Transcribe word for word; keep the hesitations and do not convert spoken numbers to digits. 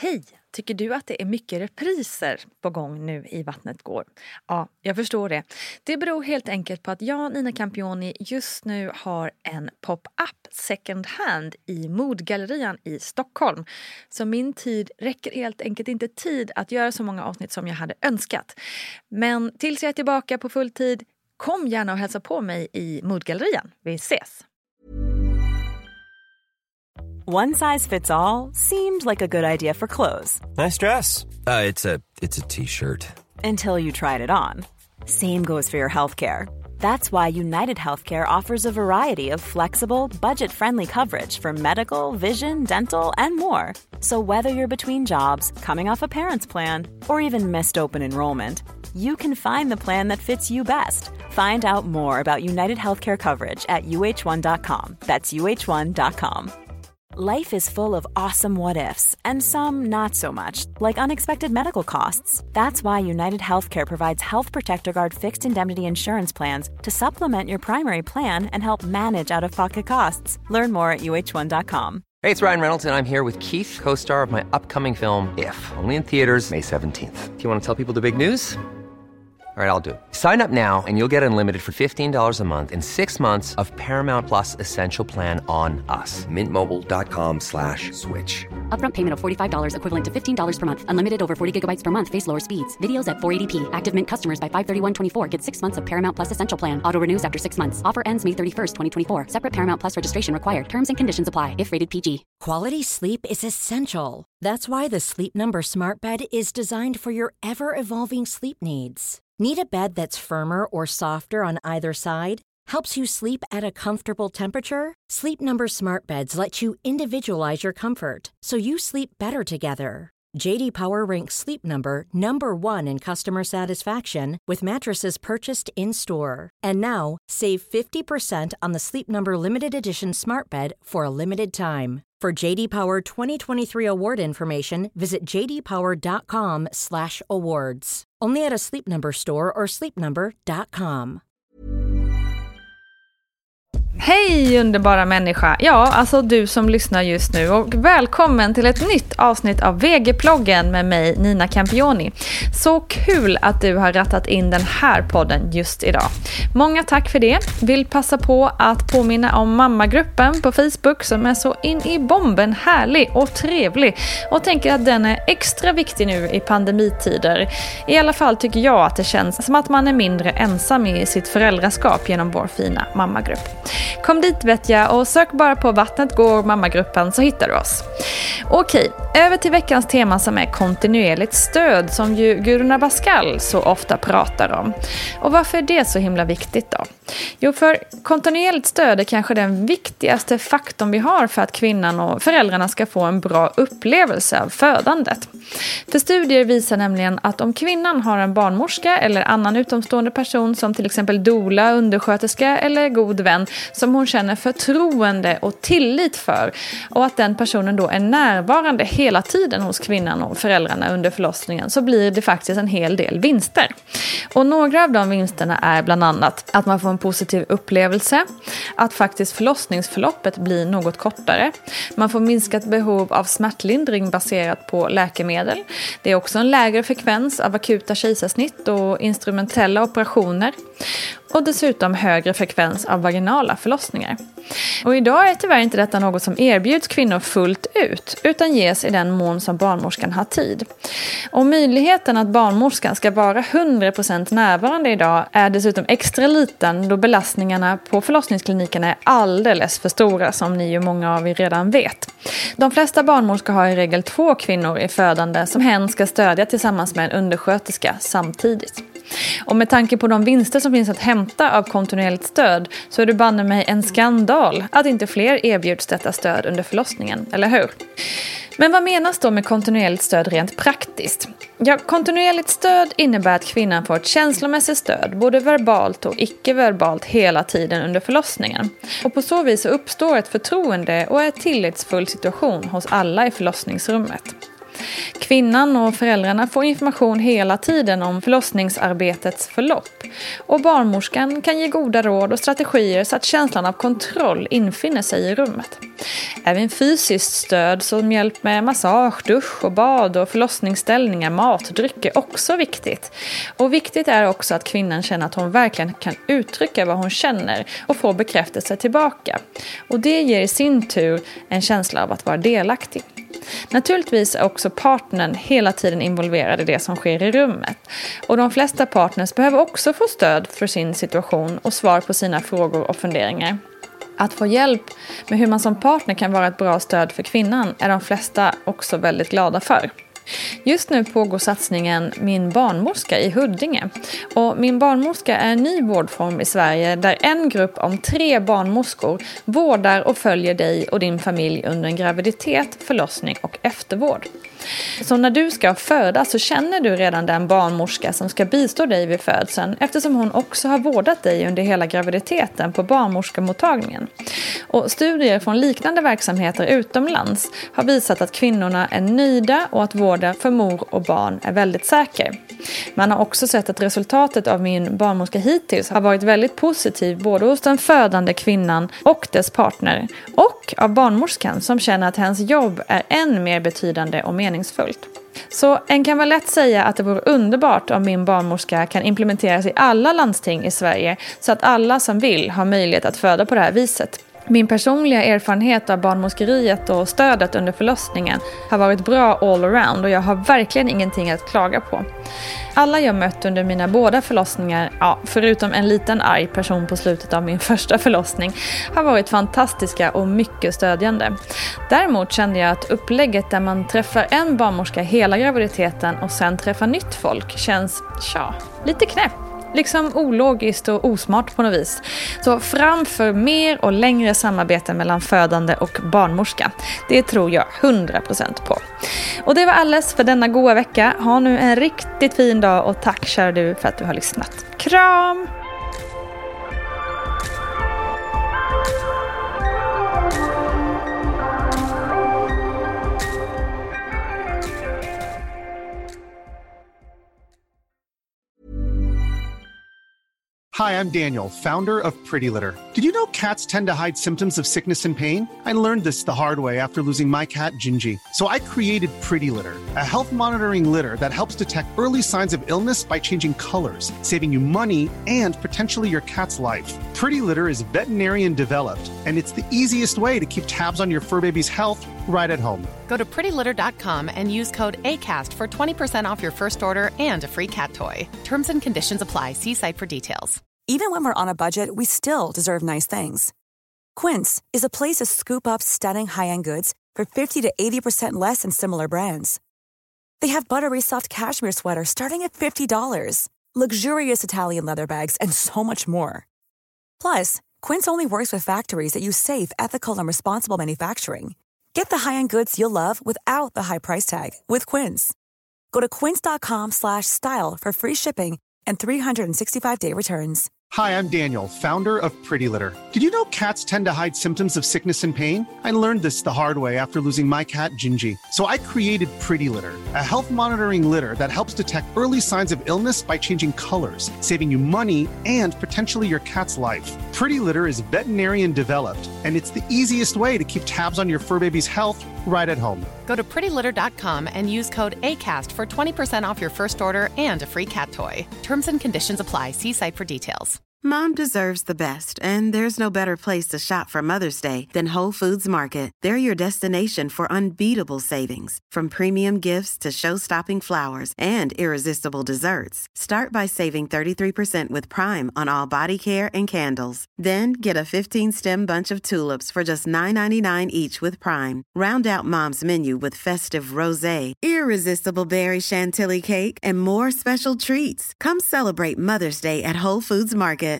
Hej! Tycker du att det är mycket repriser på gång nu i Vattnet går? Ja, jag förstår det. Det beror helt enkelt på att jag, Nina Campioni, just nu har en pop-up second hand i Modgallerian i Stockholm. Så min tid räcker helt enkelt inte tid att göra så många avsnitt som jag hade önskat. Men tills jag är tillbaka på full tid, kom gärna och hälsa på mig i Modgallerian. Vi ses! One size fits all seemed like a good idea for clothes. Nice dress. Uh, it's a it's a t-shirt. Until you tried it on. Same goes for your healthcare. That's why United Healthcare offers a variety of flexible, budget-friendly coverage for medical, vision, dental, and more. So whether you're between jobs, coming off a parent's plan, or even missed open enrollment, you can find the plan that fits you best. Find out more about United Healthcare coverage at U H one dot com. That's U H one dot com. Life is full of awesome what-ifs, and some not so much, like unexpected medical costs. That's why United Healthcare provides Health Protector Guard fixed indemnity insurance plans to supplement your primary plan and help manage out-of-pocket costs. Learn more at U H one dot com. Hey, it's Ryan Reynolds, and I'm here with Keith, co-star of my upcoming film, If, only in theaters May seventeenth. Do you want to tell people the big news? All right, I'll do it. Sign up now and you'll get unlimited for fifteen dollars a month and six months of Paramount Plus Essential Plan on us. Mint Mobile dot com slash switch. Upfront payment of forty-five dollars equivalent to fifteen dollars per month. Unlimited over forty gigabytes per month. Face lower speeds. Videos at four eighty p. Active Mint customers by five thirty-one twenty-four get six months of Paramount Plus Essential Plan. Auto renews after six months. Offer ends May thirty-first, twenty twenty-four. Separate Paramount Plus registration required. Terms and conditions apply if rated P G. Quality sleep is essential. That's why the Sleep Number Smart Bed is designed for your ever-evolving sleep needs. Need a bed that's firmer or softer on either side? Helps you sleep at a comfortable temperature? Sleep Number Smart Beds let you individualize your comfort, so you sleep better together. J D Power ranks Sleep Number number one in customer satisfaction with mattresses purchased in-store. And now, save fifty percent on the Sleep Number Limited Edition Smart Bed for a limited time. For J D Power twenty twenty-three award information, visit j d power dot com slash awards. Only at a Sleep Number store or sleep number dot com. Hej underbara människa, ja alltså du som lyssnar just nu, och välkommen till ett nytt avsnitt av V G-ploggen med mig Nina Campioni. Så kul att du har rattat in den här podden just idag. Många tack för det. Vill passa på att påminna om mammagruppen på Facebook som är så in i bomben härlig och trevlig, och tänker att den är extra viktig nu i pandemitider. I alla fall tycker jag att det känns som att man är mindre ensam i sitt föräldraskap genom vår fina mammagrupp. Kom dit vet jag, och sök bara på Vattnet går mammagruppen så hittar du oss. Okej, över till veckans tema som är kontinuerligt stöd, som ju Gudrun Abascal så ofta pratar om. Och varför är det så himla viktigt då? Jo, för kontinuerligt stöd är kanske den viktigaste faktorn vi har för att kvinnan och föräldrarna ska få en bra upplevelse av födandet. För studier visar nämligen att om kvinnan har en barnmorska eller annan utomstående person som till exempel doula, undersköterska eller god vän som hon känner förtroende och tillit för, och att den personen då är närvarande hela tiden hos kvinnan och föräldrarna under förlossningen, så blir det faktiskt en hel del vinster. Och några av de vinsterna är bland annat att man får en positiv upplevelse, att faktiskt förlossningsförloppet blir något kortare, man får minskat behov av smärtlindring baserat på läkemedel. Det är också en lägre frekvens av akuta kejsarsnitt och instrumentella operationer, och dessutom högre frekvens av vaginala förlossningar. Och idag är tyvärr inte detta något som erbjuds kvinnor fullt ut, utan ges i den mån som barnmorskan har tid. Och möjligheten att barnmorskan ska vara hundra procent närvarande idag är dessutom extra liten, då belastningarna på förlossningsklinikerna är alldeles för stora, som ni ju många av er redan vet. De flesta barnmorskor har i regel två kvinnor i födande som hen ska stödja tillsammans med en undersköterska samtidigt. Och med tanke på de vinster som finns att hämta av kontinuerligt stöd, så är det banne mig en skandal att inte fler erbjuds detta stöd under förlossningen, eller hur? Men vad menas då med kontinuerligt stöd rent praktiskt? Ja, kontinuerligt stöd innebär att kvinnan får ett känslomässigt stöd, både verbalt och icke-verbalt, hela tiden under förlossningen. Och på så vis uppstår ett förtroende och en tillitsfull situation hos alla i förlossningsrummet. Kvinnan och föräldrarna får information hela tiden om förlossningsarbetets förlopp. Och barnmorskan kan ge goda råd och strategier så att känslan av kontroll infinner sig i rummet. Även fysiskt stöd som hjälp med massage, dusch och bad och förlossningsställningar, mat och dryck är också viktigt. Och viktigt är också att kvinnan känner att hon verkligen kan uttrycka vad hon känner och få bekräftelse tillbaka. Och det ger i sin tur en känsla av att vara delaktig. Naturligtvis är också partnern hela tiden involverad i det som sker i rummet. Och de flesta partners behöver också få stöd för sin situation och svar på sina frågor och funderingar. Att få hjälp med hur man som partner kan vara ett bra stöd för kvinnan är de flesta också väldigt glada för. Just nu pågår satsningen Min barnmorska i Huddinge. Och Min barnmorska är en ny vårdform i Sverige där en grupp om tre barnmorskor vårdar och följer dig och din familj under en graviditet, förlossning och eftervård. Så när du ska föda så känner du redan den barnmorska som ska bistå dig vid födseln eftersom hon också har vårdat dig under hela graviditeten på barnmorskemottagningen. Och studier från liknande verksamheter utomlands har visat att kvinnorna är nöjda och att vården för mor och barn är väldigt säker. Man har också sett att resultatet av Min barnmorska hittills har varit väldigt positiv både hos den födande kvinnan och dess partner och av barnmorskan som känner att hennes jobb är än mer betydande och meningsfullt. Så en kan väl lätt säga att det vore underbart om Min barnmorska kan implementeras i alla landsting i Sverige så att alla som vill har möjlighet att föda på det här viset. Min personliga erfarenhet av barnmorskeriet och stödet under förlossningen har varit bra all around och jag har verkligen ingenting att klaga på. Alla jag mött under mina båda förlossningar, ja, förutom en liten arg person på slutet av min första förlossning, har varit fantastiska och mycket stödjande. Däremot kände jag att upplägget där man träffar en barnmorska hela graviditeten och sen träffar nytt folk känns, tja, lite knäpp. Liksom ologiskt och osmart på något vis. Så framför mer och längre samarbete mellan födande och barnmorska. Det tror jag hundra procent på. Och det var alles för denna goda vecka. Ha nu en riktigt fin dag och tack kära du för att du har lyssnat. Kram! Hi, I'm Daniel, founder of Pretty Litter. Did you know cats tend to hide symptoms of sickness and pain? I learned this the hard way after losing my cat, Gingy. So I created Pretty Litter, a health monitoring litter that helps detect early signs of illness by changing colors, saving you money and potentially your cat's life. Pretty Litter is veterinarian developed, and it's the easiest way to keep tabs on your fur baby's health right at home. Go to pretty litter dot com and use code ACAST for twenty percent off your first order and a free cat toy. Terms and conditions apply. See site for details. Even when we're on a budget, we still deserve nice things. Quince is a place to scoop up stunning high-end goods for fifty to eighty percent less than similar brands. They have buttery soft cashmere sweaters starting at fifty dollars, luxurious Italian leather bags, and so much more. Plus, Quince only works with factories that use safe, ethical, and responsible manufacturing. Get the high-end goods you'll love without the high price tag with Quince. Go to quince dot com slash style for free shipping and three sixty-five day returns. Hi, I'm Daniel, founder of Pretty Litter. Did you know cats tend to hide symptoms of sickness and pain? I learned this the hard way after losing my cat, Gingy. So I created Pretty Litter, a health monitoring litter that helps detect early signs of illness by changing colors, saving you money and potentially your cat's life. Pretty Litter is veterinarian developed, and it's the easiest way to keep tabs on your fur baby's health right at home. Go to pretty litter dot com and use code ACAST for twenty percent off your first order and a free cat toy. Terms and conditions apply. See site for details. Mom deserves the best, and there's no better place to shop for Mother's Day than Whole Foods Market. They're your destination for unbeatable savings, from premium gifts to show-stopping flowers and irresistible desserts. Start by saving thirty-three percent with Prime on all body care and candles. Then get a fifteen-stem bunch of tulips for just nine ninety-nine each with Prime. Round out Mom's menu with festive rosé, irresistible berry chantilly cake, and more special treats. Come celebrate Mother's Day at Whole Foods Market.